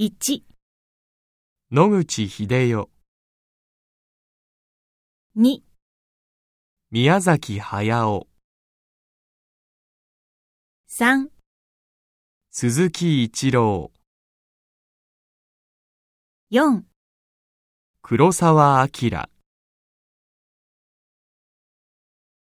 1、 野口英世、 2、 宮崎駿、 3、 鈴木一郎、 4、 黒澤明。